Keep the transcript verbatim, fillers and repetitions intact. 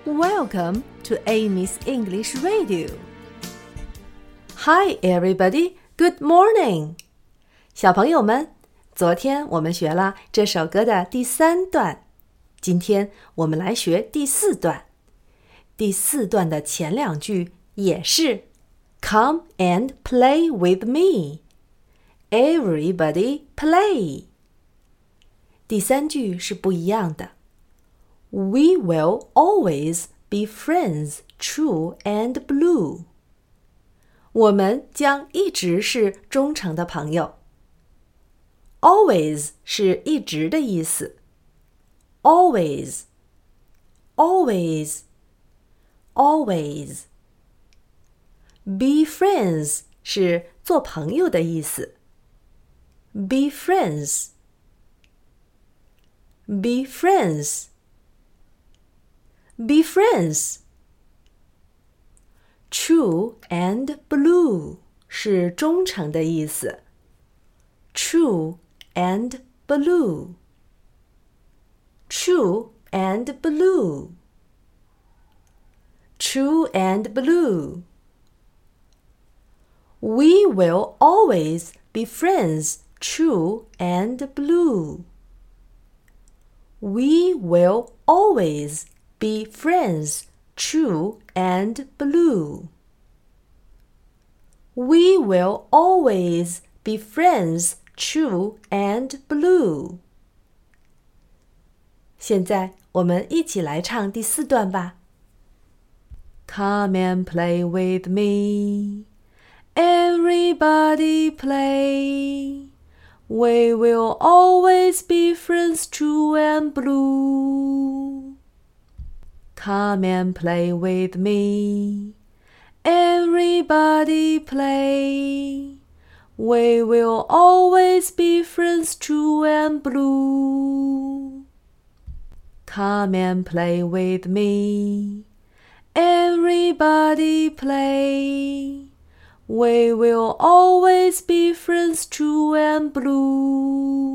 Welcome to Amy's English Radio. Hi, everybody. Good morning. 小朋友们，昨天我们学了这首歌的第三段，今天我们来学第四段。第四段的前两句也是 Come and play with me. Everybody play. 第三句是不一样的。We will always be friends, true and blue. 我们将一直是忠诚的朋友。Always 是一直的意思。Always, always, always. Be friends 是做朋友的意思。Be friends, be friends.Be friends. True and blue 是忠诚的意思。True and blue. True and blue. True and blue. We will always be friends, true and blue. We will always.Be friends, true and blue. We will always be friends, true and blue. 现在我们一起来唱第四段吧。Come and play with me. Everybody play. We will always be friends, true and blue.Come and play with me. Everybody play. We will always be friends, true and blue. Come and play with me. Everybody play. We will always be friends, true and blue.